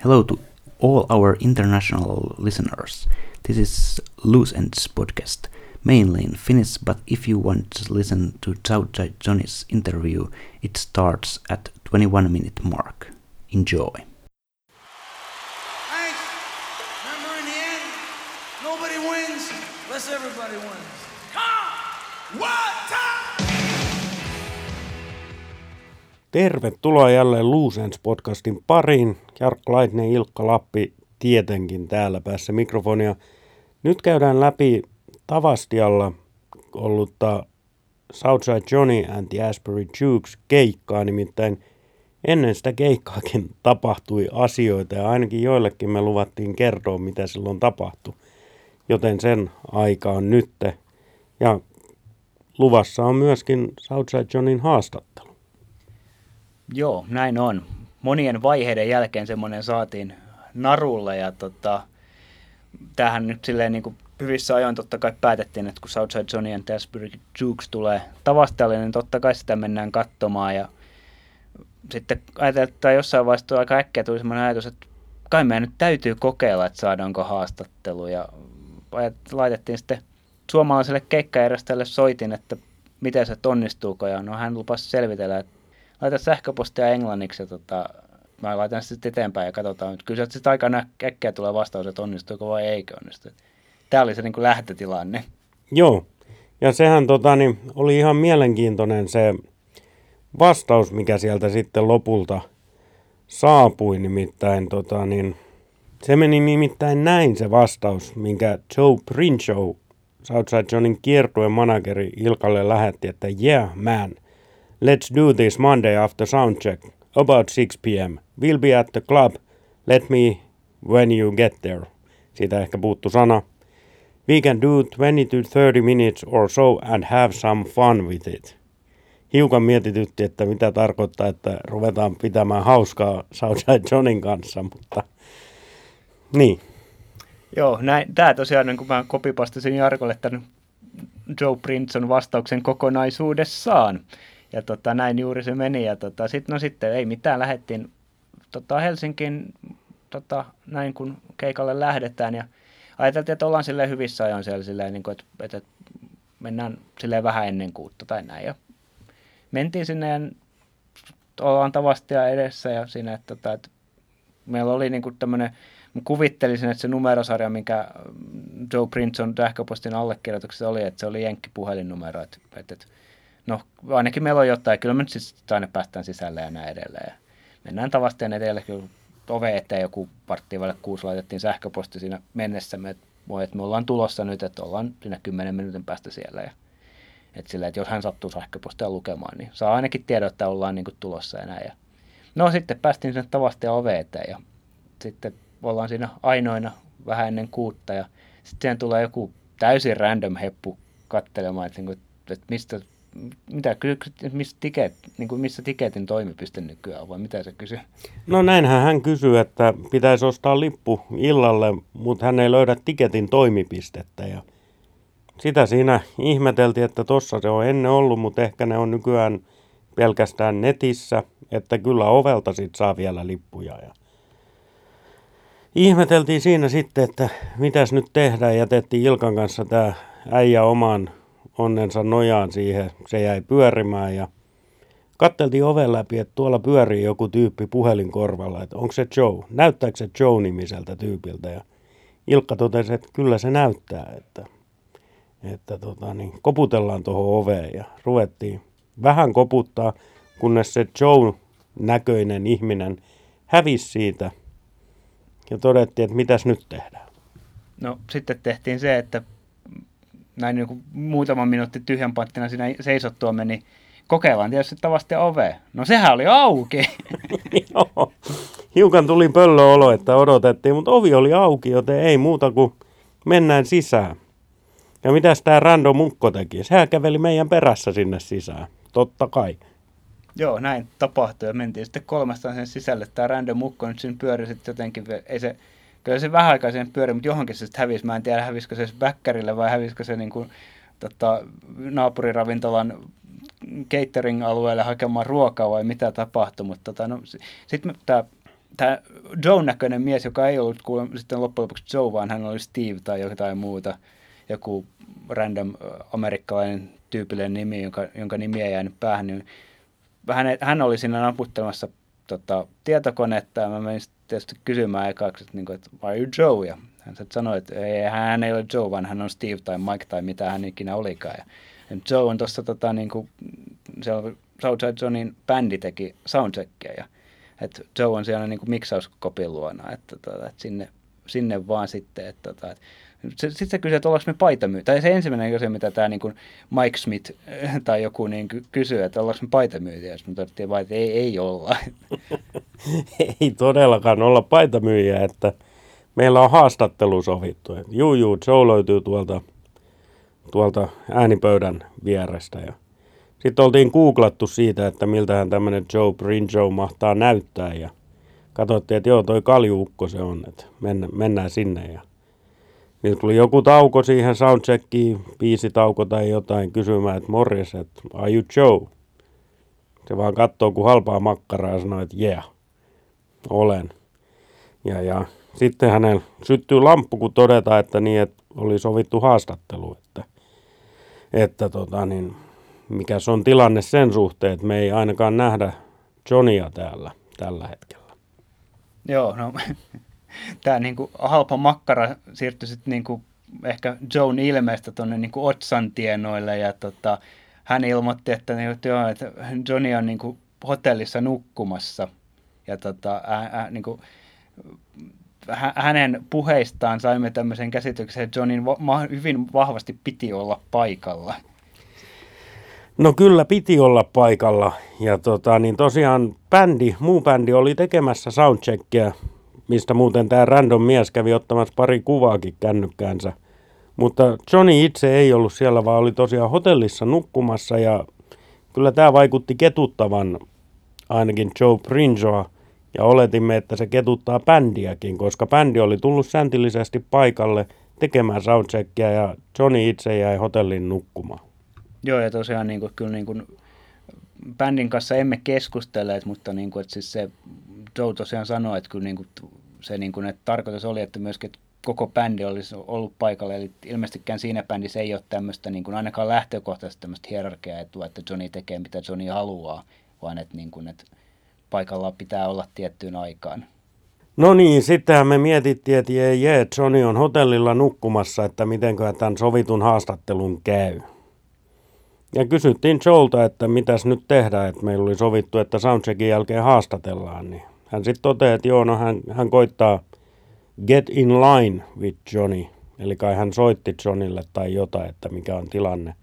Hello to all our international listeners. This is Loose Ends podcast, mainly in Finnish, but if you want to listen to Southside Johnny's interview, it starts at 21-minute mark. Enjoy. Thanks. Remember, in the end, nobody wins unless everybody wins. Come! What time? Tervetuloa jälleen Loose Ends podcastin pariin. Jarkko Laitinen, Ilkka Lappi tietenkin täällä päässä mikrofonia. Nyt käydään läpi Tavastialla ollutta Southside Johnny and the Asbury Jukes keikkaa, nimittäin ennen sitä keikkaakin tapahtui asioita ja ainakin joillekin me luvattiin kertoa, mitä silloin tapahtui. Joten sen aika on nytte. Ja luvassa on myöskin Southside Johnnyn haastattelu. Joo, näin on. Monien vaiheiden jälkeen semmoinen saatiin narulle ja tämähän nyt silleen niin kuin hyvissä ajoin totta kai päätettiin, että kun Southside Johnny and the Asbury Jukes tulee Tavastialle, niin totta kai sitä mennään katsomaan ja sitten ajateltiin, että jossain vaiheessa aika äkkiä tuli semmoinen ajatus, että kai meidän nyt täytyy kokeilla, että saadaanko haastattelu ja laitettiin sitten suomalaiselle keikkajärjestäjälle soitin, että miten se onnistuuko ja no hän lupasi selvitellä, että laita sähköpostia englanniksi ja mä laitan sitten eteenpäin ja katsotaan. Kyllä se aika äkkiä tulee vastaus, että onnistuuko vai eikö onnistu. Tämä oli se niin kuin lähtötilanne. Joo, ja sehän oli ihan mielenkiintoinen se vastaus, mikä sieltä sitten lopulta saapui. Nimittäin se meni nimittäin näin se vastaus, minkä Joe Princhow, Southside Johnnyn kiertueen manageri Ilkalle lähetti, että yeah man, let's do this Monday after soundcheck, about 6 p.m. We'll be at the club, let me when you get there. Siitä ehkä puuttu sana. We can do 20 to 30 minutes or so and have some fun with it. Hiukan mietitytti, että mitä tarkoittaa, että ruvetaan pitämään hauskaa Southside Johnnyn kanssa, mutta niin. Joo, tämä tosiaan, kun mä kopipastasin Jarkolle tämän Joe Princhon vastauksen kokonaisuudessaan. Ja näin juuri se meni. Ja sitten ei mitään, lähdettiin Helsinkiin näin kun keikalle lähdetään. Ja ajateltiin, että ollaan silleen hyvissä ajoin siellä silleen, niin kuin, että mennään silleen vähän ennen 6 tai näin. Ja mentiin sinne ja ollaan Tavastia edessä ja siinä, että meillä oli niin kuin tämmöinen, kuvittelisin, että se numerosarja, minkä Joe Princhon sähköpostin allekirjoituksessa oli, että se oli jenkkipuhelinnumero. Että no ainakin meillä on jotain, kyllä me nyt siis aina päästään sisälle ja näin edelleen. Ja mennään edelle, kyllä ove eteen joku varttiin välillä 6 laitettiin sähköposti siinä mennessä, että me ollaan tulossa nyt, että ollaan siinä 10 minuutin päästä siellä. Ja, että jos hän sattuu sähköpostia lukemaan, niin saa ainakin tiedon, että ollaan niin kuin tulossa ja näin. Ja no sitten päästiin sinne Tavastia ove eteen ja sitten ollaan siinä ainoina vähän ennen 6 ja sitten siihen tulee joku täysin random katselemaan, että missä tiketin toimipiste nykyään on, vai mitä se kysyy? No näinhän hän kysyy, että pitäisi ostaa lippu illalle, mutta hän ei löydä tiketin toimipistettä. Ja sitä siinä ihmeteltiin, että tossa se on ennen ollut, mutta ehkä ne on nykyään pelkästään netissä, että kyllä ovelta sit saa vielä lippuja. Ja ihmeteltiin siinä sitten, että mitäs nyt tehdään. Jätettiin Ilkan kanssa tämä äijä oman onnensa nojaan siihen. Se jäi pyörimään ja katteltiin oven läpi, että tuolla pyörii joku tyyppi puhelinkorvalla, että onko se Joe? Näyttääkö se Joe-nimiseltä tyypiltä? Ja Ilkka totesi, että kyllä se näyttää, että koputellaan tuohon oveen ja ruvettiin vähän koputtaa, kunnes se Joe-näköinen ihminen hävisi siitä ja todettiin, että mitäs nyt tehdään. No sitten tehtiin se, että näin niin kuin muutaman minuutti tyhjän panttina siinä seisottua meni, kokeillaan tietysti Tavastia ovea. No sehän oli auki. Joo, hiukan tuli pöllöolo, että odotettiin, mutta ovi oli auki, joten ei muuta kuin mennään sisään. Ja mitäs tämä random mukko teki? Sehän käveli meidän perässä sinne sisään, totta kai. Joo, näin tapahtui ja mentiin sitten 3 sen sisälle. Tämä random mukko nyt siinä pyöri sitten jotenkin, kyllä se vähän aikaa sen pyöri, mutta johonkin se sitten hävisi. Mä en tiedä, hävisikö se väkkärille vai hävisikö se niin kuin, naapuriravintolan catering-alueelle hakemaan ruokaa vai mitä tapahtui. Mutta sitten tämä tämä Joe näköinen mies, joka ei ollut sitten loppujen lopuksi Joe, vaan hän oli Steve tai jotain muuta, joku random amerikkalainen tyypillinen nimi, jonka nimi ei jäänyt päähän, niin hän oli siinä naputtelemassa tietokonetta, ja mä menin tietysti kysymään ekaksi, että are you Joe? Ja hän sanoi, että hän ei ole Joe, vaan hän on Steve tai Mike tai mitä hän ikinä olikaan. Ja Joe on tuossa, Southside Johnin bändi teki soundcheckia, ja että Joe on siellä niin kuin miksauskopin luona, että sinne vaan sitten, sitten se kysyi, että ollaanko me paitamyyjä. Tai se ensimmäinen kysyi, mitä tämä niin kuin Mike Smith tai joku niin kysyy, että ollaanko me paitamyyjä. Sitten me todettiin vaan, että ei olla. Ei todellakaan olla paitamyyjä, että meillä on haastattelu sovittu. Juu, Joe löytyy tuolta äänipöydän vierestä. Ja sitten oltiin googlattu siitä, että miltähän tämmöinen Joe Brinjo mahtaa näyttää. Ja katsottiin, että joo, toi kaljuukko se on, että mennään sinne. Ja niin tuli joku tauko siihen soundcheckiin, biisitauko tai jotain, kysymään, että morjes, että are you Joe? Se vaan katsoo kuin halpaa makkaraa ja sanoo, että yeah, olen. Ja sitten hänellä syttyy lamppu, kun todetaan, että niin, että oli sovittu haastattelu, että mikä se on tilanne sen suhteen, että me ei ainakaan nähdä Johnia täällä tällä hetkellä. Joo, no tämä niinku halpa makkara siirtyi sitten niinku ehkä Joan ilmeestä tuonne niinku Otsan tienoille, ja hän ilmoitti, että Johnny on niinku hotellissa nukkumassa, ja niinku hänen puheistaan saimme tämmöisen käsityksen, että Johnin hyvin vahvasti piti olla paikalla. No kyllä piti olla paikalla, ja tosiaan muu bändi oli tekemässä soundcheckia, mistä muuten tämä random mies kävi ottamassa pari kuvaakin kännykkäänsä. Mutta Johnny itse ei ollut siellä, vaan oli tosiaan hotellissa nukkumassa, ja kyllä tämä vaikutti ketuttavan ainakin Joe Brinjoa, ja oletimme, että se ketuttaa bändiäkin, koska bändi oli tullut säntillisesti paikalle tekemään soundcheckia, ja Johnny itse jäi hotellin nukkumaan. Joo, ja tosiaan kyllä bändin kanssa emme keskustelleet, mutta että siis se Joe tosiaan sanoi, että kyllä se että tarkoitus oli, että myöskin että koko bändi olisi ollut paikalla, eli ilmeisestikään siinä bändissä ei ole tämmöistä ainakaan lähtökohtaisesti tämmöistä hierarkiaetua, että Johnny tekee mitä Johnny haluaa, vaan että paikalla pitää olla tiettyyn aikaan. No niin, sittenhän me mietittiin, että Johnny on hotellilla nukkumassa, että mitenköhän tämän sovitun haastattelun käy. Ja kysyttiin Joelta, että mitäs nyt tehdään, että meillä oli sovittu, että soundcheckin jälkeen haastatellaan. Niin hän sitten toteaa, että joo, no hän koittaa get in line with Johnny. Eli kai hän soitti Johnille tai jotain, että mikä on tilanne.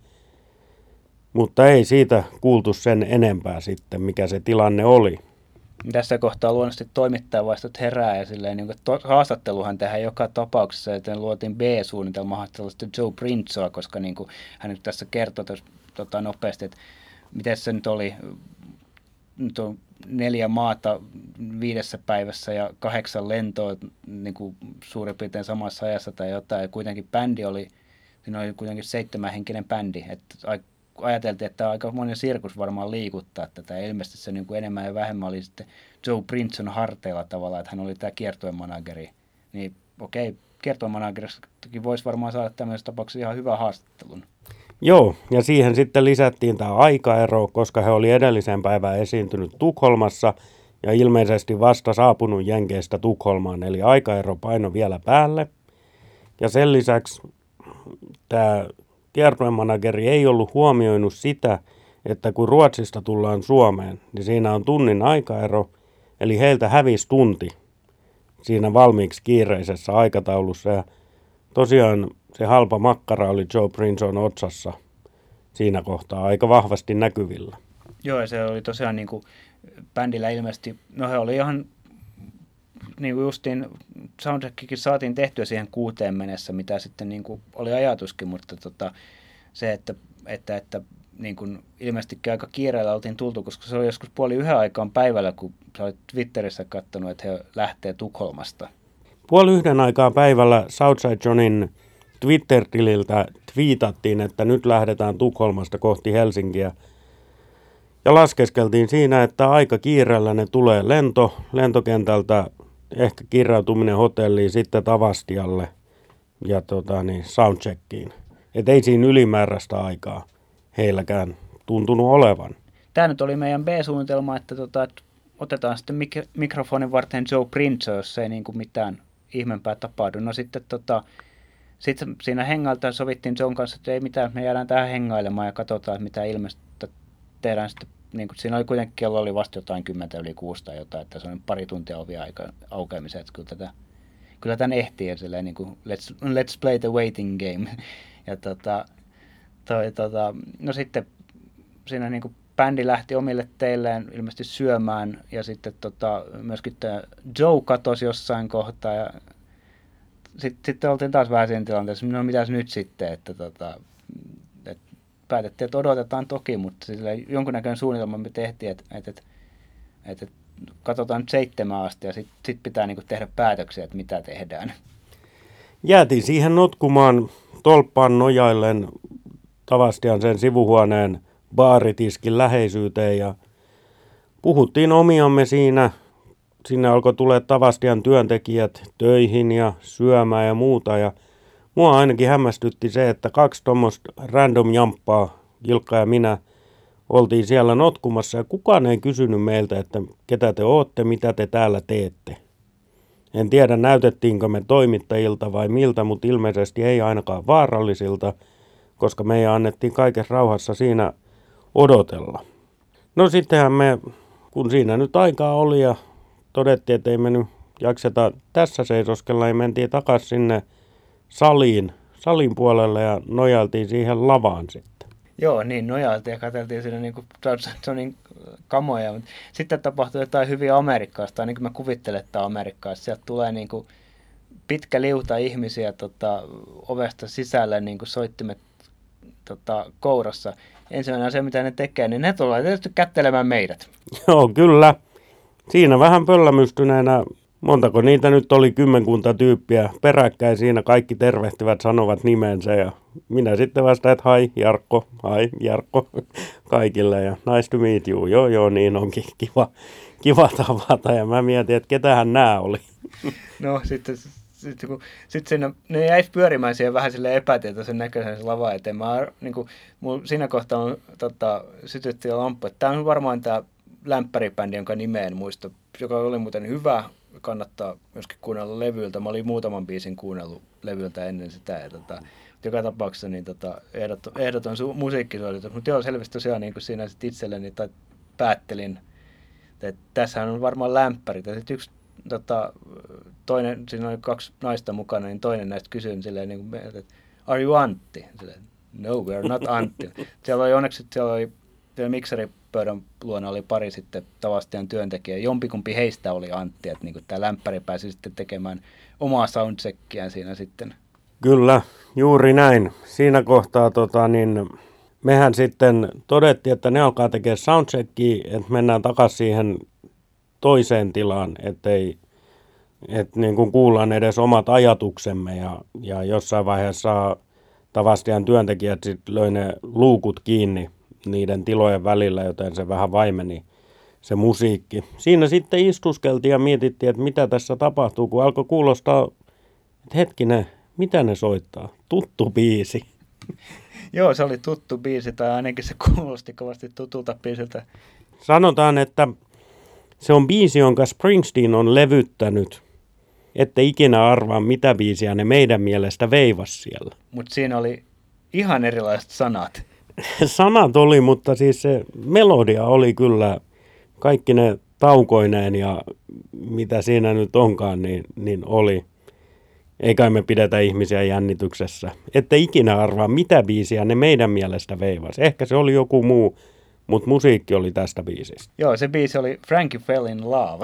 Mutta ei siitä kuultu sen enempää sitten, mikä se tilanne oli. Tässä kohtaa luonnollisesti toimittajavaistot herää ja silleen, haastatteluhan tehdään joka tapauksessa, joten luotiin B-suunnitelma haastattelusta Joe Brinzoa, koska hän nyt tässä kertoi nopeasti, että miten se nyt oli, nyt on 4 maata 5 päivässä ja 8 lentoa suurin piirtein samassa ajassa tai jotain, ja kuitenkin siinä oli kuitenkin 7-henkinen bändi, että ajateltiin, että aika monen sirkus varmaan liikuttaa tätä, ja ilmeisesti se enemmän ja vähemmän oli sitten Joe Brinzon harteilla tavallaan, että hän oli tämä kiertuemanageri, niin okei, kiertuemanagerista voisi varmaan saada tämmöisessä tapauksessa ihan hyvän haastattelun. Joo, ja siihen sitten lisättiin tämä aikaero, koska he oli edellisen päivän esiintynyt Tukholmassa ja ilmeisesti vasta saapunut Jenkeistä Tukholmaan, eli aikaero paino vielä päälle. Ja sen lisäksi tämä kiertuemanageri ei ollut huomioinut sitä, että kun Ruotsista tullaan Suomeen, niin siinä on tunnin aikaero, eli heiltä hävisi tunti siinä valmiiksi kiireisessä aikataulussa. Ja tosiaan se halpa makkara oli Joe Brinzon otsassa siinä kohtaa aika vahvasti näkyvillä. Joo, ja se oli tosiaan bändillä ilmeisesti, no he oli ihan justiin soundtrackikin saatiin tehtyä siihen 6 mennessä, mitä sitten oli ajatuskin, mutta se, että ilmeisesti aika kiireellä oltiin tultu, koska se oli joskus 12:30 aikaan päivällä, kun sä olit Twitterissä katsonut, että he lähtee Tukholmasta. 12:30 aikaan päivällä Southside Johnin Twitter-tililtä twiitattiin, että nyt lähdetään Tukholmasta kohti Helsinkiä. Ja laskeskeltiin siinä, että aika kiireellä ne tulee lentokentältä, ehkä kirjautuminen hotelliin, sitten Tavastialle ja soundcheckiin. Että ei siinä ylimääräistä aikaa heilläkään tuntunut olevan. Tämä nyt oli meidän B-suunnitelma, että otetaan sitten mikrofonin varten Joe Prince, jos ei niin kuin mitään ihmeempää tapahdu. No sitten sitten siinä hengailta sovittiin Joen kanssa, että ei mitään, me jäädään tähän hengailemaan ja katsotaan, että mitä ilmeistä tehdään sitten. Niin kuin, siinä oli kuitenkin kello oli vasta jotain 10:06 tai jotain, että se on pari tuntia ovia aukeamiseen, että kyllä tämän ehtii silleen niin kuin let's play the waiting game. Ja no sitten siinä niin kuin bändi lähti omille teilleen ilmeisesti syömään ja sitten myöskin Joe katosi jossain kohtaa ja sitten oltiin taas vähän siinä tilanteessa, no mitäs nyt sitten, että päätettiin, että odotetaan toki, mutta jonkunnäköinen suunnitelma me tehtiin, että katsotaan nyt 7 asti ja sitten pitää niinku tehdä päätöksiä, että mitä tehdään. Jäätiin siihen notkumaan tolppaan nojaillen Tavastian sen sivuhuoneen baaritiskin läheisyyteen ja puhuttiin omiamme siinä. Sinne alkoi tulla Tavastian työntekijät töihin ja syömään ja muuta ja mua ainakin hämmästytti se, että 2 tuommoista random jamppaa, Ilkka ja minä, oltiin siellä notkumassa ja kukaan ei kysynyt meiltä, että ketä te ootte, mitä te täällä teette. En tiedä näytettiinkö me toimittajilta vai miltä, mutta ilmeisesti ei ainakaan vaarallisilta, koska meidän annettiin kaikessa rauhassa siinä odotella. No sittenhän me, kun siinä nyt aikaa oli ja todettiin, että ei me nyt jakseta tässä seisoskella, niin mentiin takaisin sinne salin puolelle ja nojailtiin siihen lavaan sitten. Joo, niin nojailtiin ja katseltiin siinä niin kuin Johnsonin kamoja, mutta sitten tapahtui jotain hyvin amerikkalaista, niin kuin mä kuvittelen, että amerikkalaista. Sieltä tulee niin kuin pitkä liuta ihmisiä ovesta sisälle, niin kuin soittimet kourassa. Ensimmäinen asia, mitä ne tekee, niin ne tulee tietysti kättelemään meidät. Joo, kyllä. Siinä vähän pöllämystyneenä, montako niitä nyt oli 10 tyyppiä peräkkäin siinä, kaikki tervehtivät, sanovat nimensä ja minä sitten vastaan, että hi Jarkko kaikille ja nice to meet you, joo niin onkin kiva tavata ja mä mietin, että ketähän nämä oli. No sitten siinä, ne jäisi pyörimään siihen vähän silleen epätietoisen näköisen lava eteen. Siinä kohtaa sytyttiin lamppu, että tämä on varmaan tämä lämpäribändi, jonka nimeä en muista, joka oli muuten hyvä, kannattaa myöskin kuunnella levyltä. Mä olin muutaman biisin kuunnellut levyltä ennen sitä. Ja joka tapauksessa niin ehdoton musiikkisuoritus. Mutta joo, selvästi tosiaan niin kuin siinä sit itselleni päättelin, että tässähän on varmaan lämpärit. Ja sitten yksi toinen, siinä oli 2 naista mukana, niin toinen näistä kysyi silleen, niin kuin, että are you Antti? Silleen, no, we are not Antti. Siellä oli mikseripöydän luona oli pari sitten Tavastian työntekijää. Jompikumpi heistä oli Antti, että niin tämä lämpäri pääsi sitten tekemään omaa soundcheckiään siinä sitten. Kyllä, juuri näin. Siinä kohtaa mehän sitten todettiin, että ne alkaa tekemään soundcheckia, että mennään takaisin siihen toiseen tilaan, että niin kuin kuullaan edes omat ajatuksemme ja jossain vaiheessa Tavastian työntekijät sitten löi ne luukut kiinni niiden tilojen välillä, joten se vähän vaimeni se musiikki. Siinä sitten istuskeltiin ja mietittiin, että mitä tässä tapahtuu, kun alkoi kuulostaa, että hetkinen, mitä ne soittaa? Tuttu biisi. Joo, se oli tuttu biisi, tai ainakin se kuulosti kovasti tutulta biisiltä. Sanotaan, että se on biisi, jonka Springsteen on levyttänyt, ette ikinä arvaa, mitä biisiä ne meidän mielestä veivas siellä. Mutta siinä oli ihan erilaiset sanat. Sanat oli, mutta siis se melodia oli kyllä kaikki ne taukoineen ja mitä siinä nyt onkaan, niin oli. Eikä me pidetä ihmisiä jännityksessä. Ette ikinä arvaa, mitä biisiä ne meidän mielestä veivas. Ehkä se oli joku muu, mutta musiikki oli tästä biisistä. Joo, se biisi oli Frankie Fell in Love.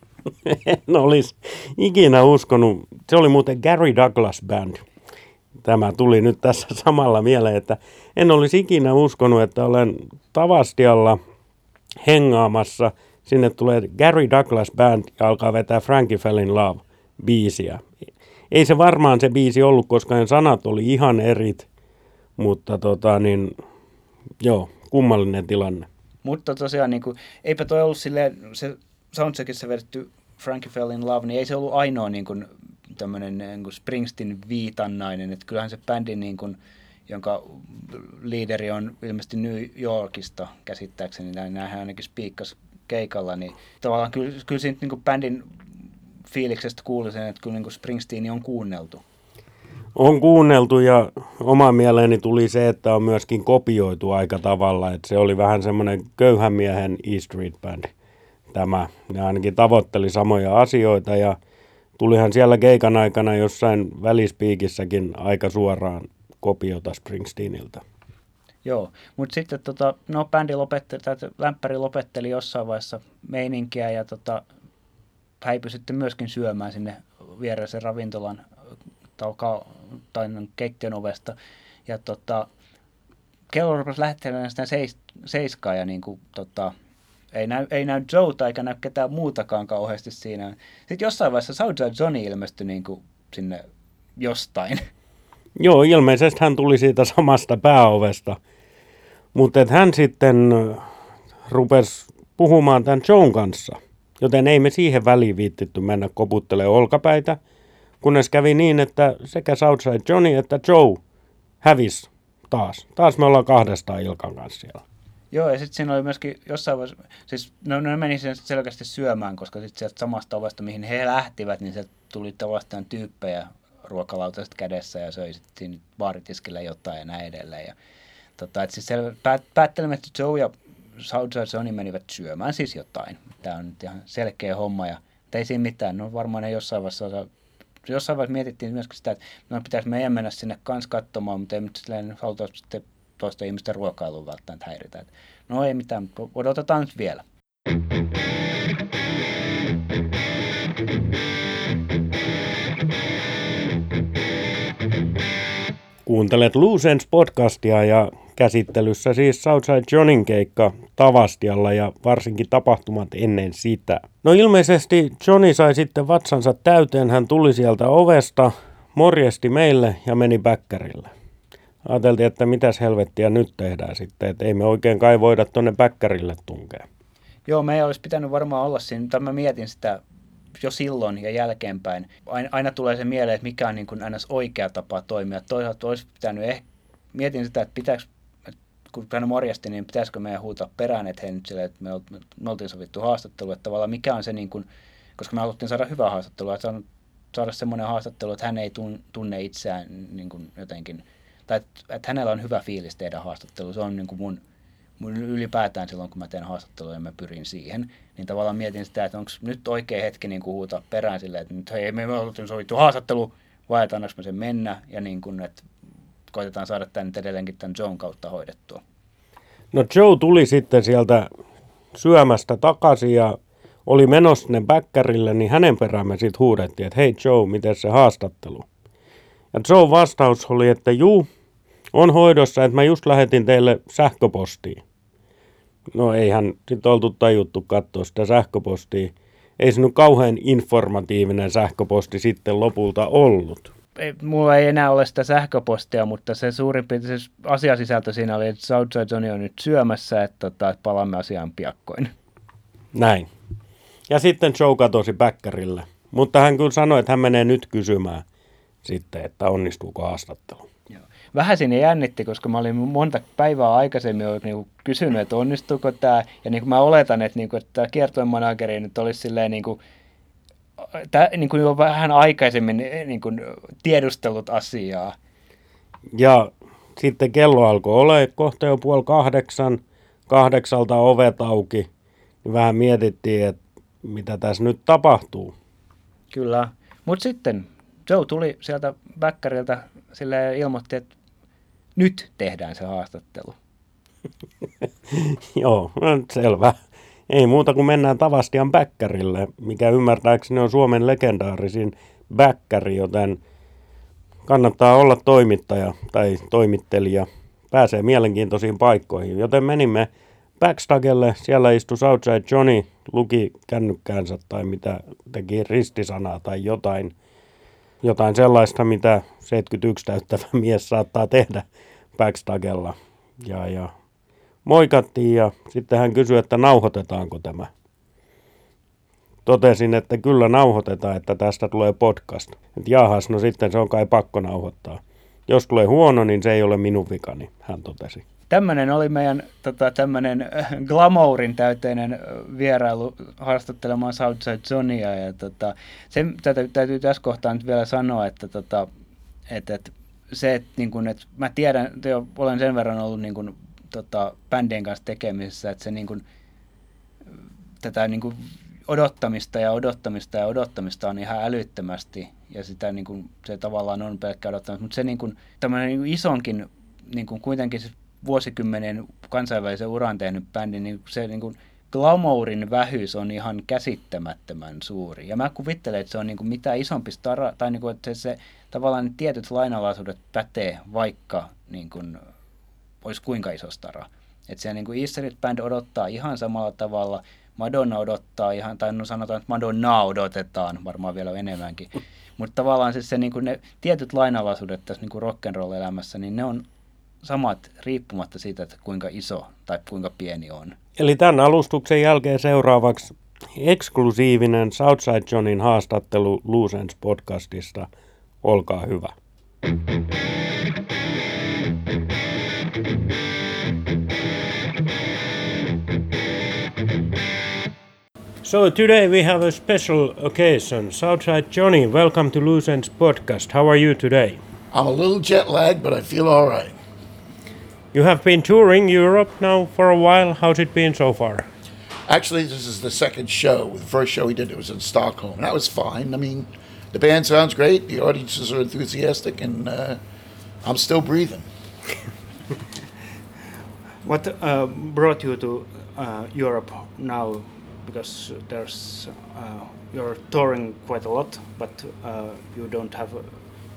En olisi ikinä uskonut. Se oli muuten Gary Douglas Band. Tämä tuli nyt tässä samalla mieleen, että en olisi ikinä uskonut, että olen Tavastialla hengaamassa. Sinne tulee Gary Douglas Band ja alkaa vetää Frankie Fell in Love -biisiä. Ei se varmaan se biisi ollut, koska ne sanat oli ihan erit, mutta joo, kummallinen tilanne. Mutta tosiaan niin kuin, eipä toi ollut silleen, se soundcheckissa vedetty Frankie Fell in Love, niin ei se ollut ainoa niin kuin, tämmöinen niin kuin Springsteen viitannainen, että kyllähän se bändi, niin kuin, jonka liideri on ilmeisesti New Yorkista käsittääkseni, näinhän ainakin spiikkas keikalla, niin tavallaan kyllä siitä niin kuin bändin fiiliksestä kuuli sen, että kyllä niin kuin Springsteen on kuunneltu. On kuunneltu ja oma mieleeni tuli se, että on myöskin kopioitu aika tavalla, että se oli vähän semmoinen köyhän miehen E Street Band tämä. Ne ainakin tavoitteli samoja asioita ja tulihan siellä keikan aikana jossain välispiikissäkin aika suoraan kopiota Springsteeniltä. Joo, mutta sitten bändi lopetteli, tai lämpäri lopetteli jossain vaiheessa meininkiä ja häipyi sitten myöskin syömään sinne viereisen ravintolan tai keittiön ovesta. Ja kello rupesi lähettelemään sitä seiskaa ja niinku, ei näy Joeta eikä näy ketään muutakaan kauheasti siinä. Sitten jossain vaiheessa Southside Johnny ilmestyi niinku sinne jostain. Joo, ilmeisesti hän tuli siitä samasta pääovesta, mutta hän sitten rupesi puhumaan tämän Joen kanssa, joten ei me siihen väliin viittitty mennä koputtelemaan olkapäitä, kunnes kävi niin, että sekä Southside Johnny että Joe hävisi taas. Taas me ollaan kahdestaan Ilkan kanssa siellä. Joo, ja sitten siinä oli myöskin jossain vaiheessa, siis ne meni sen selkeästi syömään, koska sitten sieltä samasta ovesta, mihin he lähtivät, niin sieltä tuli vastaan tyyppejä ruokalautaiset kädessä ja söi sitten siinä baaritiskillä jotain ja näin edelleen. Ja, siis päättelemme, että Joe ja Southside Johnny menivät syömään siis jotain. Tämä on nyt ihan selkeä homma, ja ei siinä mitään. No varmaan ne jossain vaiheessa mietittiin myöskin sitä, että pitäisi meidän mennä sinne kanssa katsomaan, mutta ei nyt silleen haluta sitten toista ihmisten ruokailuun välttämättä häiritä. Että no ei mitään, odotetaan nyt vielä. Kuuntelet Loose Ends podcastia ja käsittelyssä siis Southside Johnin keikka Tavastialla ja varsinkin tapahtumat ennen sitä. No ilmeisesti Johnny sai sitten vatsansa täyteen, hän tuli sieltä ovesta, morjesti meille ja meni bäkkärille. Ajateltiin, että mitäs helvettiä nyt tehdään sitten, että ei me oikein kai voida tuonne bäkkärille tunkea. Joo, meidän olisi pitänyt varmaan olla siinä, mutta mä mietin sitä jo silloin ja jälkeenpäin. Aina tulee se mieleen, että mikä on niin kuin aina oikea tapa toimia. Toisaalta olisi pitänyt mietin sitä, että pitääkö, kun hän morjasti, niin pitäisikö meidän huutaa perään, että hei nyt silleen, että me oltiin sovittu haastattelu, että tavallaan mikä on se, niin kuin, koska me haluttiin saada hyvää haastattelua, että saada semmoinen haastattelu, että hän ei tunne itseään niin kuin jotenkin, tai että hänellä on hyvä fiilis tehdä haastattelu. Se on niin kuin mun ylipäätään silloin, kun mä teen haastattelua ja mä pyrin siihen, niin tavallaan mietin sitä, että onko nyt oikea hetki niin kuin huutaa perään silleen, että nyt hei, me oltiin sovittu haastattelu, vai että annaanko me sen mennä, ja niin kuin, että koitetaan saada tämän nyt edelleenkin tämän Joen kautta hoidettua. No Joe tuli sitten sieltä syömästä takaisin ja oli menossa sinne bäkkärille, niin hänen perään me sitten huudettiin, että hei Joe, miten se haastattelu? Ja Joe vastaus oli, että juu, on hoidossa, että mä just lähetin teille sähköpostiin. No eihän sitten oltu tajuttu katsoa sitä sähköpostia. Ei se nyt kauhean informatiivinen sähköposti sitten lopulta ollut. Mulla ei enää ole sitä sähköpostia, mutta se suurin piirtein se asiasisältö siinä oli, että Southside Johnny on nyt syömässä, että palaamme asiaan piakkoin. Näin. Ja sitten Joe katosi bäkkärille. Mutta hän kyllä sanoi, että hän menee nyt kysymään sitten, että onnistuuko haastattelu. Vähän siinä jännitti, koska mä olin monta päivää aikaisemmin niin kysynyt, että onnistuuko tämä. Ja niin kuin mä oletan, että, että tämä kiertueen manageri nyt olisi silleen, niin kuin jo vähän aikaisemmin niin kuin tiedustellut asiaa. Ja sitten kello alkoi olla kohta jo 7:30, 8:00 ovet auki. Niin vähän mietittiin, että mitä tässä nyt tapahtuu. Kyllä, mutta sitten Joe tuli sieltä bäkkäriltä silleen ilmoitti, että nyt tehdään se haastattelu. Joo, selvä. Ei muuta kuin mennään Tavastian bäkkärille, mikä ymmärtääkseni on Suomen legendaarisin bäkkäri, joten kannattaa olla toimittaja tai toimittelija. Pääsee mielenkiintoisiin paikkoihin, joten menimme backstagelle. Siellä istui Southside Johnny, luki kännykkäänsä tai mitä teki ristisanaa tai jotain sellaista, mitä 71 täyttävä mies saattaa tehdä backstagella. Ja moikattiin ja sitten hän kysyi, että nauhoitetaanko tämä. Totesin, että kyllä nauhoitetaan, että tästä tulee podcast. Et jahas, no sitten se on kai pakko nauhoittaa. Jos tulee huono, niin se ei ole minun vikani, hän totesi. Tämmöinen oli meidän tämmöinen glamourin täyteinen vierailu haastattelemaan Southside Johnia. Ja se täytyy tässä kohtaa nyt vielä sanoa, että se, että, niin kun, että mä tiedän, että olen sen verran ollut niin kun, bändien kanssa tekemisissä, että se niin kun, tätä niin kun, odottamista on ihan älyttömästi ja sitä niin kuin, se tavallaan on pelkkä odottamista, mutta se niin kuin, tämmöinen niin kuin isonkin niin kuin kuitenkin se vuosikymmenen kansainvälisen uran tehnyt bändi, niin se niin kuin glamourin vähyys on ihan käsittämättömän suuri. Ja mä kuvittelen, että se on niin kuin mitä isompi stara, tai niin kuin, että se tavallaan ne tietyt lainalaisuudet pätee, vaikka niin kuin, olisi kuinka iso stara. Että siellä niin kuin E Street Band odottaa ihan samalla tavalla, Madonna odottaa ihan, tai no sanotaan, että Madonnaa odotetaan varmaan vielä enemmänkin. Mutta tavallaan se niin kuin ne tietyt lainalaisuudet tässä niin kuin rock'n'roll-elämässä, niin ne on samat riippumatta siitä, että kuinka iso tai kuinka pieni on. Eli tämän alustuksen jälkeen seuraavaksi eksklusiivinen Southside Johnin haastattelu Loose Ends podcastista. Olkaa hyvä. So today we have a special occasion. Southside Johnny, welcome to Loose Ends podcast. How are you today? I'm a little jet lagged, but I feel all right. You have been touring Europe now for a while. How's it been so far? Actually, this is the second show. The first show we did, it was in Stockholm. That was fine. I mean, the band sounds great. The audiences are enthusiastic, and I'm still breathing. What brought you to Europe now? Because you're touring quite a lot, but you don't have a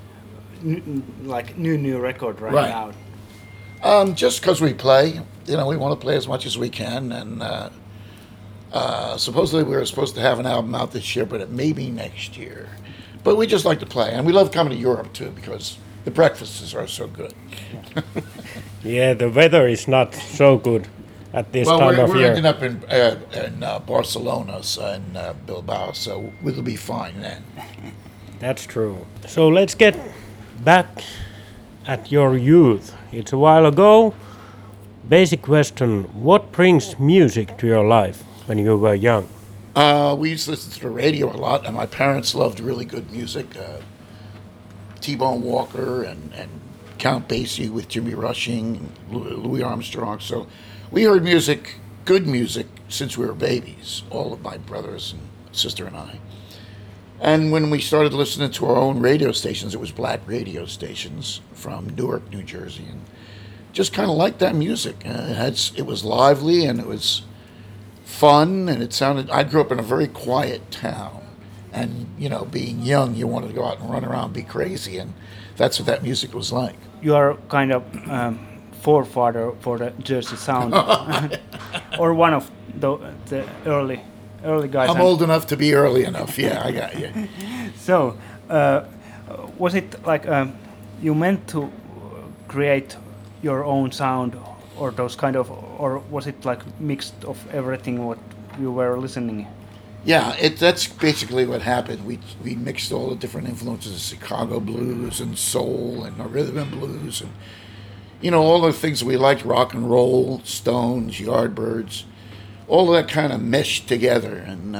new record right now. Just because we play, we want to play as much as we can, and supposedly we were supposed to have an album out this year, but it may be next year. But we just like to play, and we love coming to Europe too because the breakfasts are so good. Yeah, the weather is not so good at this time of year. We're ending up in Barcelona and Bilbao, so we'll be fine then. That's true. So let's get back at your youth. It's a while ago. Basic question, what brings music to your life when you were young? We used to listen to the radio a lot, and my parents loved really good music. T-Bone Walker and Count Basie with Jimmy Rushing, and Louis Armstrong. So we heard music, good music, since we were babies, all of my brothers and sister and I. And when we started listening to our own radio stations, it was black radio stations from Newark, New Jersey, and just kind of liked that music. It was lively and it was fun, and it sounded. I grew up in a very quiet town, and being young, you wanted to go out and run around, be crazy, and that's what that music was like. You are kind of forefather for the Jersey Sound, or one of the early guys. I'm old enough to be early enough. Yeah, I got you. So, was it like you meant to create your own sound, or those kind of, or was it like mixed of everything what you were listening? Yeah, that's basically what happened. We mixed all the different influences of Chicago blues and soul and rhythm and blues and all the things we liked, rock and roll, Stones, Yardbirds, all of that kind of meshed together, and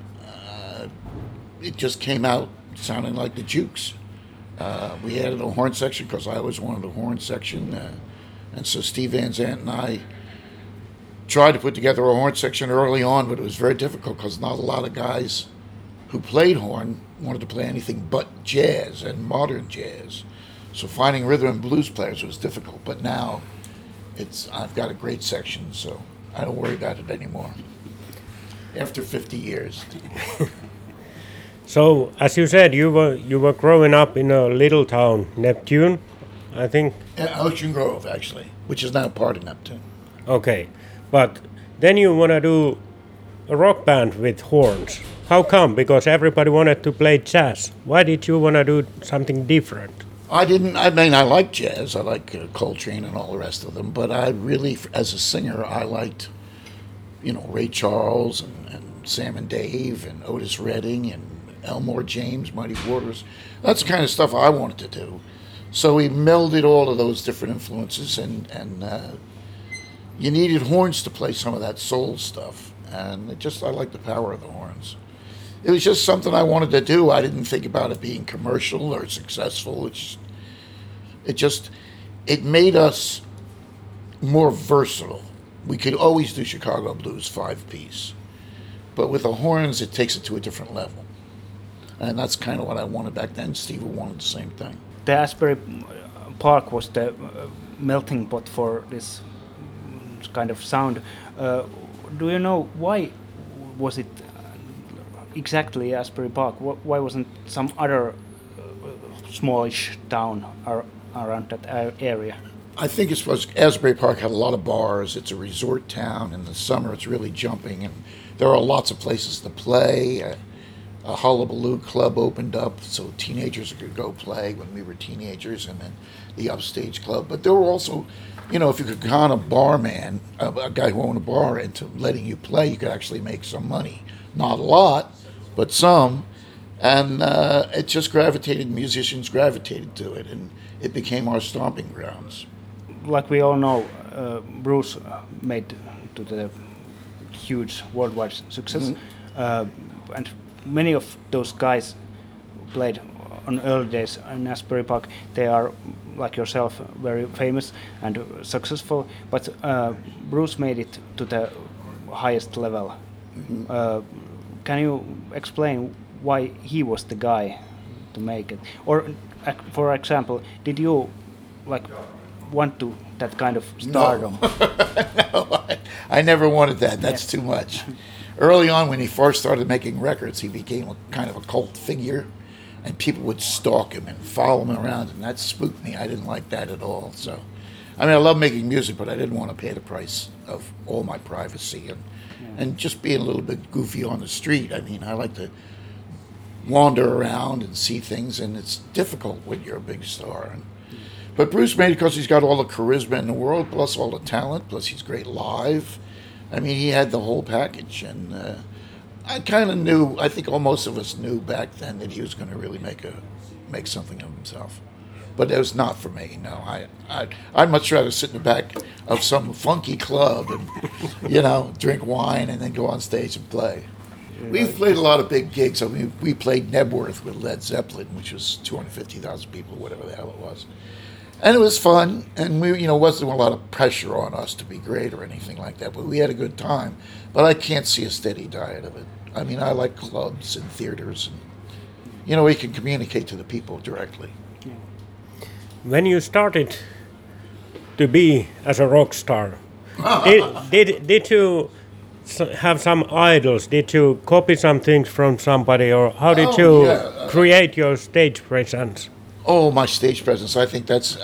it just came out sounding like the Jukes. We added a horn section because I always wanted a horn section, and so Steve Van Zandt and I tried to put together a horn section early on, but it was very difficult because not a lot of guys who played horn wanted to play anything but jazz and modern jazz. So finding rhythm and blues players was difficult, but now I've got a great section, so I don't worry about it anymore. After 50 years. So, as you said, you were growing up in a little town, Neptune, I think. Ocean Grove, actually, which is now part of Neptune. Okay, but then you want to do a rock band with horns. How come? Because everybody wanted to play jazz. Why did you want to do something different? I didn't. I mean, I like jazz. I like Coltrane and all the rest of them. But I really, as a singer, I liked, Ray Charles and Sam and Dave and Otis Redding and Elmore James, Muddy Waters. That's the kind of stuff I wanted to do. So we melded all of those different influences, and you needed horns to play some of that soul stuff. And I like the power of the horns. It was just something I wanted to do. I didn't think about it being commercial or successful. It made us more versatile. We could always do Chicago blues 5-piece, but with the horns, it takes it to a different level. And that's kind of what I wanted back then. Steve wanted the same thing. The Asbury Park was the melting pot for this kind of sound. Do you know why was it exactly Asbury Park? Why wasn't some other smallish town around that area? I think it's because Asbury Park had a lot of bars. It's a resort town. In the summer, it's really jumping, and there are lots of places to play. A Hullabaloo Club opened up, so teenagers could go play when we were teenagers, and then the Upstage Club. But there were also, if you could con a barman, a guy who owned a bar, into letting you play, you could actually make some money. Not a lot, but some. And it just musicians gravitated to it, and it became our stomping grounds. Like we all know, Bruce made to the huge worldwide success, and many of those guys played on early days in Asbury Park. They are, like yourself, very famous and successful, but Bruce made it to the highest level. Can you explain why he was the guy to make it? Or, for example, did you want to that kind of stardom? No, I never wanted that. That's too much. Early on, when he first started making records, he became a kind of a cult figure, and people would stalk him and follow him around, and that spooked me. I didn't like that at all. So, I love making music, but I didn't want to pay the price of all my privacy and just being a little bit goofy on the street. I like to wander around and see things, and it's difficult when you're a big star. But Bruce made it because he's got all the charisma in the world, plus all the talent, plus he's great live. He had the whole package, and I kind of knew, I think most of us knew back then that he was going to really make something of himself. But it was not for me, no. I'd much rather sit in the back of some funky club and, drink wine and then go on stage and play. We've played a lot of big gigs. We played Nebworth with Led Zeppelin, which was 250,000 people, whatever the hell it was. And it was fun, and wasn't a lot of pressure on us to be great or anything like that, but we had a good time. But I can't see a steady diet of it. I like clubs and theaters, and, we can communicate to the people directly. When you started to be as a rock star, did you have some idols? Did you copy some things from somebody, or how did you create your stage presence? Oh, my stage presence. I think that's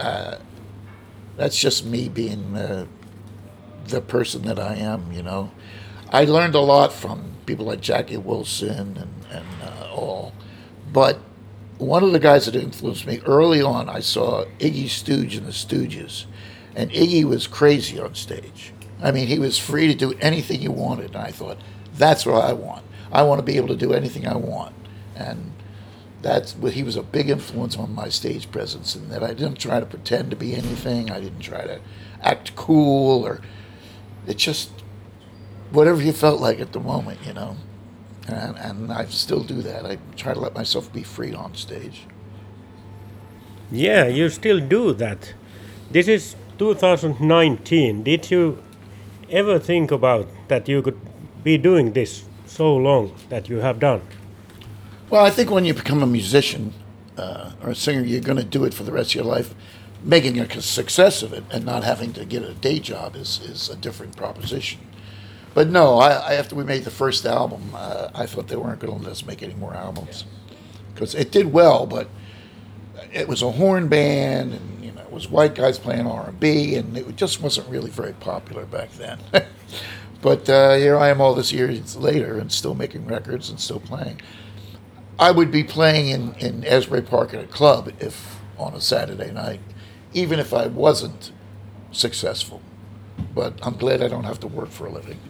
just me being the person that I am, I learned a lot from people like Jackie Wilson and all. But one of the guys that influenced me early on, I saw Iggy Stooge and the Stooges. And Iggy was crazy on stage. He was free to do anything he wanted. And I thought, that's what I want. I want to be able to do anything I want. And he was a big influence on my stage presence, in that I didn't try to pretend to be anything. I didn't try to act cool, or it's just whatever you felt like at the moment, And I still do that. I try to let myself be free on stage. Yeah, you still do that. This is 2019. Did you ever think about that you could be doing this so long that you have done? Well, I think when you become a musician or a singer, you're going to do it for the rest of your life. Making a success of it and not having to get a day job is a different proposition. But no, after we made the first album, I thought they weren't going to let us make any more albums. Because it did well, but it was a horn band, and it was white guys playing R&B, and it just wasn't really very popular back then. But here I am all this years later and still making records and still playing. I would be playing in Asbury Park at a club if on a Saturday night, even if I wasn't successful. But I'm glad I don't have to work for a living.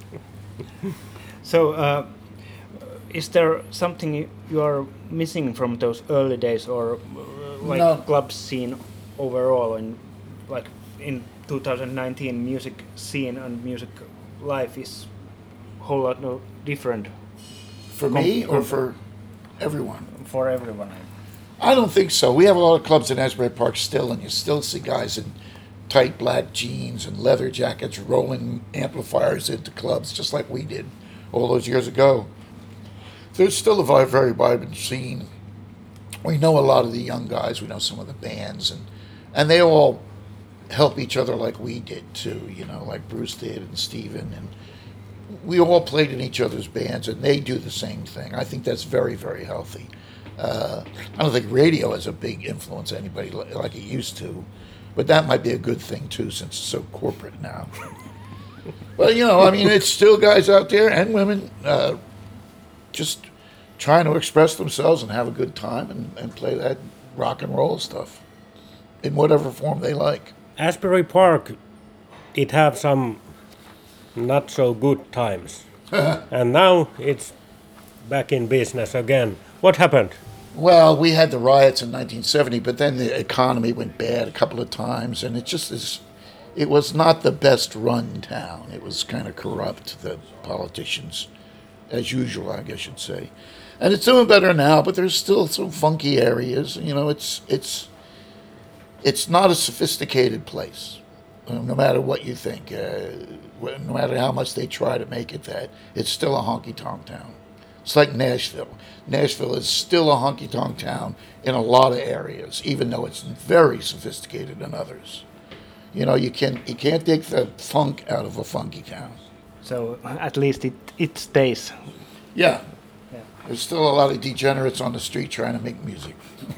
So, is there something you are missing from those early days, or like No. club scene overall, and like in 2019, music scene and music life is a whole lot no different For me or for everyone? for everyone? I don't think so. We have a lot of clubs in Asbury Park still, and you still see guys in tight black jeans and leather jackets rolling amplifiers into clubs just like we did all those years ago. There's still a very vibrant scene. We know a lot of the young guys. We know some of the bands, and they all help each other like we did too. You know, like Bruce did and Steven, and we all played in each other's bands, and they do the same thing. I think that's very, very healthy. I don't think radio has a big influence on anybody like it used to, but that might be a good thing too, since it's so corporate now. But you know, I mean, it's still guys out there and women just trying to express themselves and have a good time and play that rock and roll stuff in whatever form they like. Asbury Park, it have some not so good times. And now it's back in business again. What happened? Well, we had the riots in 1970, but then the economy went bad a couple of times, and it was not the best run town. It was kind of corrupt, the politicians, as usual, I guess you'd say. And it's doing better now, but there's still some funky areas. You know, it's not a sophisticated place, no matter what you think. No matter how much they try to make it that, it's still a honky-tonk town. It's like Nashville. Nashville is still a honky-tonk town in a lot of areas, even though it's very sophisticated in others. You know, you can't take the funk out of a funky town. So at least it stays. Yeah. There's still a lot of degenerates on the street trying to make music.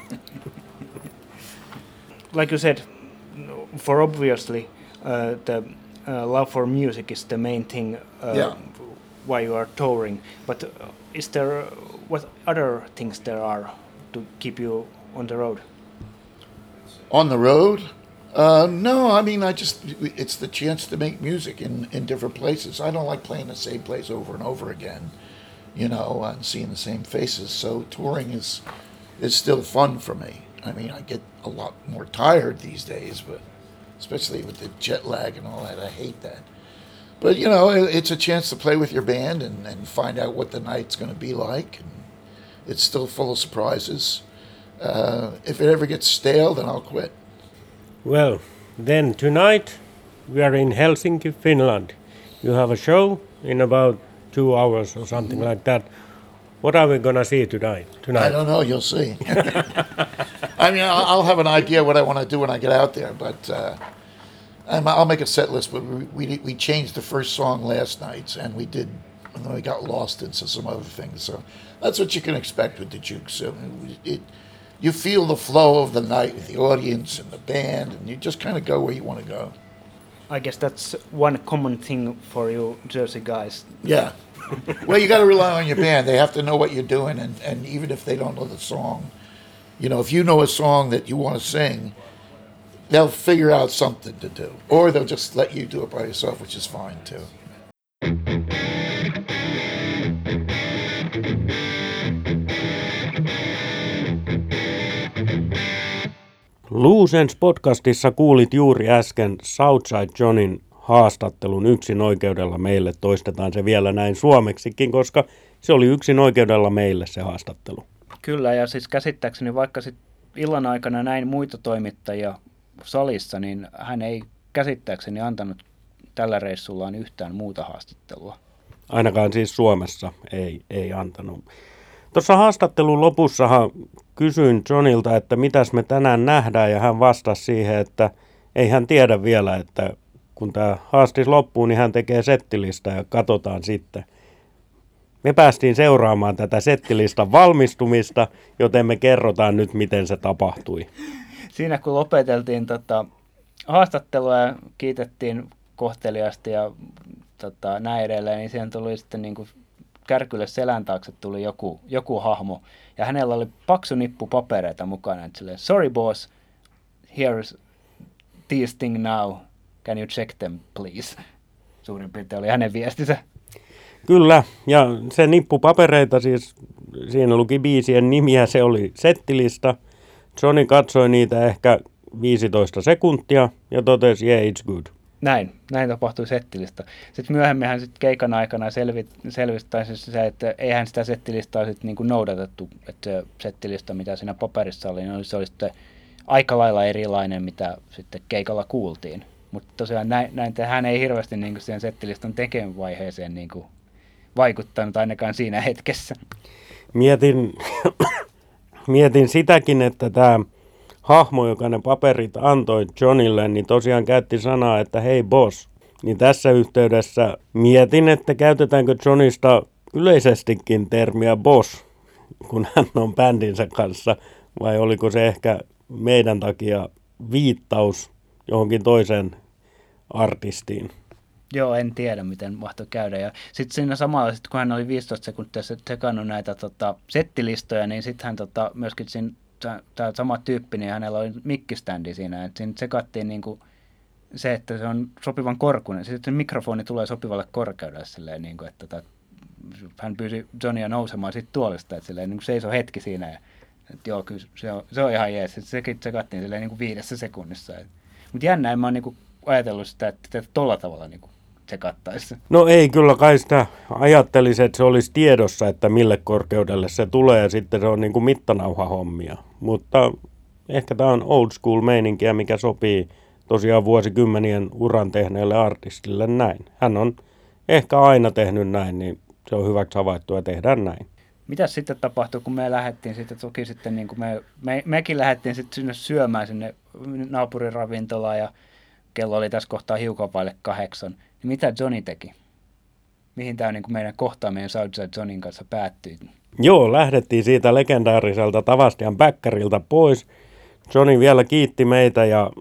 Like you said, for obviously the love for music is the main thing why you are touring. But is there what other things there are to keep you on the road? On the road? No, I mean, it's the chance to make music in different places. I don't like playing the same place over and over again, you know, and seeing the same faces. So touring is still fun for me. I mean, I get a lot more tired these days, but especially with the jet lag and all that, I hate that. But, you know, it's a chance to play with your band and find out what the night's going to be like. And it's still full of surprises. If it ever gets stale, then I'll quit. Well, then tonight we are in Helsinki, Finland. You have a show in about 2 hours or something like that. What are we going to see tonight? I don't know. You'll see. I mean, I'll have an idea what I want to do when I get out there, but I'll make a set list. But we changed the first song last night, and then we got lost into some other things. So that's what you can expect with the Jukes. You feel the flow of the night with the audience and the band, and you just kind of go where you want to go. I guess that's one common thing for you Jersey guys. Yeah. Well, you got to rely on your band. They have to know what you're doing, and even if they don't know the song, you know, if you know a song that you want to sing, they'll figure out something to do. Or they'll just let you do it by yourself, which is fine, too. Loose podcastissa kuulit juuri äsken Southside Johnin haastattelun yksin oikeudella meille. Toistetaan se vielä näin suomeksikin, koska se oli yksin oikeudella meille se haastattelu. Kyllä, ja siis käsittääkseni vaikka sit illan aikana näin muita toimittajia salissa, niin hän ei käsittääkseni antanut tällä reissullaan yhtään muuta haastattelua. Ainakaan siis Suomessa ei antanut. Tuossa haastattelun lopussahan kysyin Johnilta, että mitäs me tänään nähdään, ja hän vastasi siihen, että ei hän tiedä vielä, että kun tämä haastis loppuu, niin hän tekee settilista ja katsotaan sitten. Me päästiin seuraamaan tätä settilistan valmistumista, joten me kerrotaan nyt, miten se tapahtui. Siinä kun lopeteltiin haastattelua ja kiitettiin kohteliaasti ja näin edelleen, niin siihen tuli sitten niin kuin kärkylle selän taakse tuli joku hahmo, ja hänellä oli paksu nippu papereita mukana, että silleen, sorry boss, here's these thing now, can you check them please? Suurin piirtein oli hänen viestinsä. Kyllä, ja se nippu papereita, siis siinä luki biisien nimiä, se oli settilista. Johnny katsoi niitä ehkä 15 sekuntia ja totesi, yeah, it's good. Näin tapahtui settilista. Sitten myöhemminhän sit keikan aikana selvisi siis se, että eihän sitä settilistaa sit niinku noudatettu. Että se settilista, mitä siinä paperissa oli, niin se oli sitten aika lailla erilainen, mitä sitten keikalla kuultiin. Mutta tosiaan hän ei hirveästi niinku siihen settilistan tekemivaiheeseen niinku vaikuttanut ainakaan siinä hetkessä. Mietin sitäkin, että tämä hahmo, joka ne paperit antoi Johnille, niin tosiaan käytti sanaa, että hei boss. Niin tässä yhteydessä mietin, että käytetäänkö Johnista yleisestikin termiä boss, kun hän on bändinsä kanssa, vai oliko se ehkä meidän takia viittaus johonkin toiseen artistiin. Joo, en tiedä, miten mahtoi käydä. Ja sitten siinä samalla, kun hän oli 15 sekuntia sekannut näitä settilistoja, niin sitten hän myöskin tämä sama tyyppi, niin hänellä oli mikkiständi siinä. Että siinä sekattiin niinku se, että se on sopivan korkuinen. Sitten se mikrofoni tulee sopivalle korkeudelle silleen, niinku, että hän pyysi Johnia nousemaan siitä tuolista, että silleen, niin seisoi hetki siinä. Ja, että joo, kyllä se on ihan jees. Sekin sekattiin silleen niin kuin 5 sekunnissa. Mutta jännä, en mä oon niinku ajatellut sitä, että tolla tavalla niinku sekattaisi. No ei kyllä kai sitä ajattelisi, että se olisi tiedossa, että mille korkeudelle se tulee ja sitten se on niin kuin mittanauhahommia. Mutta ehkä tämä on old school meininkiä, mikä sopii tosiaan vuosikymmenien uran tehneelle artistille näin. Hän on ehkä aina tehnyt näin, niin se on hyväksi havaittu ja tehdään näin. Mitäs sitten tapahtui, kun me lähdettiin sitten, toki sitten niin kuin mekin lähdettiin sitten sinne syömään sinne naapuriravintolaan ja kello oli tässä kohtaa hiukan vaille 8. Niin mitä Johnny teki? Mihin tämä niin kuin meidän kohtaaminen Southside Johnin kanssa päättyi? Joo, lähdettiin siitä legendaariselta Tavastian Bäkkäriltä pois. Johnny vielä kiitti meitä ja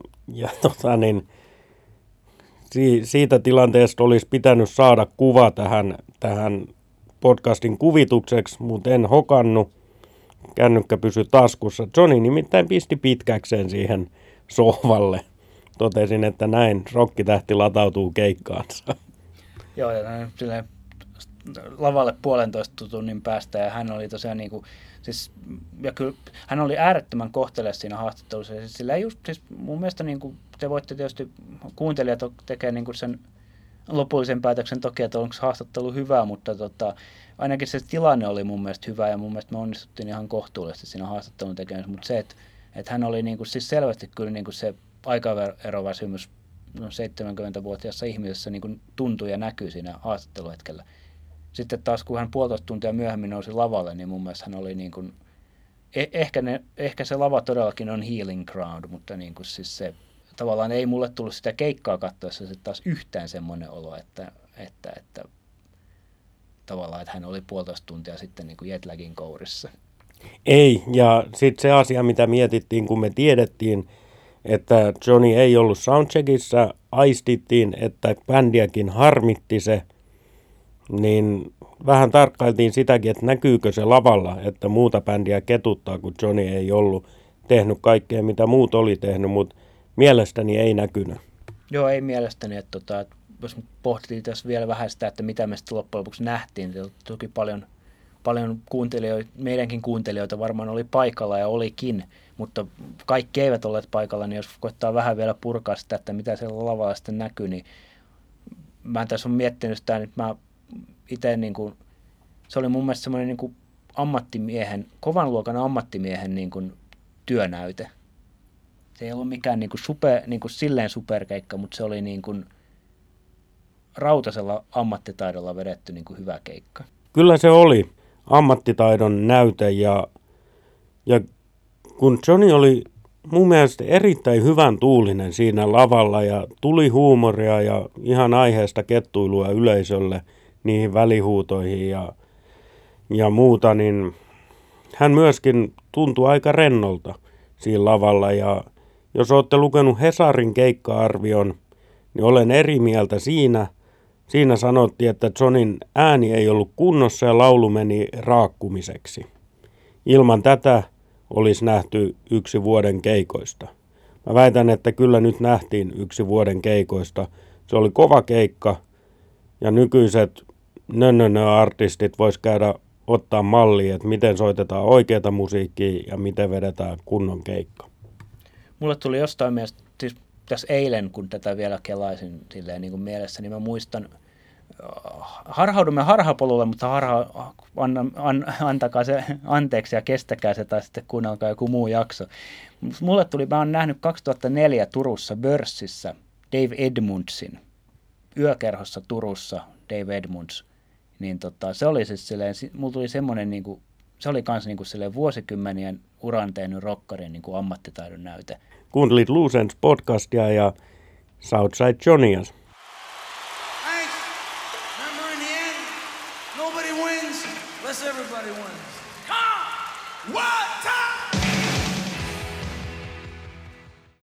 siitä tilanteesta olisi pitänyt saada kuva tähän podcastin kuvitukseksi, mutta en hokannut. Kännykkä pysyi taskussa. Johnny nimittäin pisti pitkäkseen siihen sohvalle. Totesin, että näin rokkitähti latautuu keikkaansa. Joo, ja silleen lavalle 1,5 tunnin päästä, ja hän oli tosiaan niin kuin, siis, ja kyllä hän oli äärettömän kohtelias siinä haastattelussa, ja sillä just, siis mun mielestä niin kuin, te voitte tietysti, kuuntelijat tekee niin kuin sen lopullisen päätöksen toki, että onko haastattelu hyvä, mutta ainakin se tilanne oli mun mielestä hyvä, ja mun mielestä me onnistuttiin ihan kohtuullisesti siinä haastattelun tekemisessä, mutta se, että hän oli niin kuin, siis selvästi kyllä niin kuin se aikaeroväsymys 70-vuotiaassa ihmisessä niin kuin tuntui ja näkyi siinä haastatteluhetkellä. Sitten taas kun hän 1,5 tuntia myöhemmin nousi lavalle, niin mun mielestä hän oli niin kuin, ehkä se lava todellakin on healing ground, mutta niin kuin siis se tavallaan ei mulle tullut sitä keikkaa katsoessa sitten taas yhtään semmoinen olo, että tavallaan, että hän oli 1,5 tuntia sitten niin kuin jetlagin kourissa. Ei, ja sitten se asia, mitä mietittiin, kun me tiedettiin, että Johnny ei ollut soundcheckissa, aistittiin, että bändiäkin harmitti se, niin vähän tarkkailtiin sitäkin, että näkyykö se lavalla, että muuta bändiä ketuttaa, kun Johnny ei ollut tehnyt kaikkea, mitä muut oli tehnyt, mutta mielestäni ei näkynyt. Joo, ei mielestäni, että jos pohtii tässä vielä vähän sitä, että mitä me sitten loppujen lopuksi nähtiin, niin toki paljon kuuntelijoita, meidänkin kuuntelijoita varmaan oli paikalla ja olikin, mutta kaikki eivät olleet paikalla, niin jos koittaa vähän vielä purkaa sitä, että mitä siellä lavalla sitten näkyy, niin mä tässä olen miettinyt sitä, että mä itse niin kuin, se oli mun mielestä semmoinen niin kuin ammattimiehen, kovan luokan ammattimiehen niin kuin työnäyte. Se ei ollut mikään niin kuin silleen superkeikka, mutta se oli niin kuin rautasella ammattitaidolla vedetty niin kuin hyvä keikka. Kyllä se oli ammattitaidon näyte ja kun Johnny oli mun mielestä erittäin hyvän tuulinen siinä lavalla ja tuli huumoria ja ihan aiheesta kettuilua yleisölle niihin välihuutoihin ja muuta, niin hän myöskin tuntui aika rennolta siinä lavalla ja jos olette lukenut Hesarin keikka-arvion, niin olen eri mieltä siinä. Siinä sanottiin, että Johnin ääni ei ollut kunnossa ja laulu meni raakkumiseksi. Ilman tätä olisi nähty 1 vuoden keikoista. Mä väitän, että kyllä nyt nähtiin 1 vuoden keikoista. Se oli kova keikka ja nykyiset artistit vois käydä ottaa mallia, että miten soitetaan oikeata musiikkia ja miten vedetään kunnon keikka. Mulle tuli jostain mielestä, siis tässä eilen, kun tätä vielä kelaisin silleen niin kuin mielessä, niin mä muistan, harhaudumme harhapolulle, mutta antakaa se anteeksi ja kestäkää se, tai sitten kuunnelkaa joku muu jakso. Mulle tuli, mä oon nähnyt 2004 Turussa Börssissä Dave Edmundsin, yökerhossa Turussa Dave Edmunds. Niin se oli siis silleen, mulla tuli semmoinen, niin kuin, se oli kans niin kuin silleen vuosikymmenien uran tehnyt rockarin niin kuin ammattitaidon näyte. Kuuntelit Loose Ends podcastia ja Southside Johnias.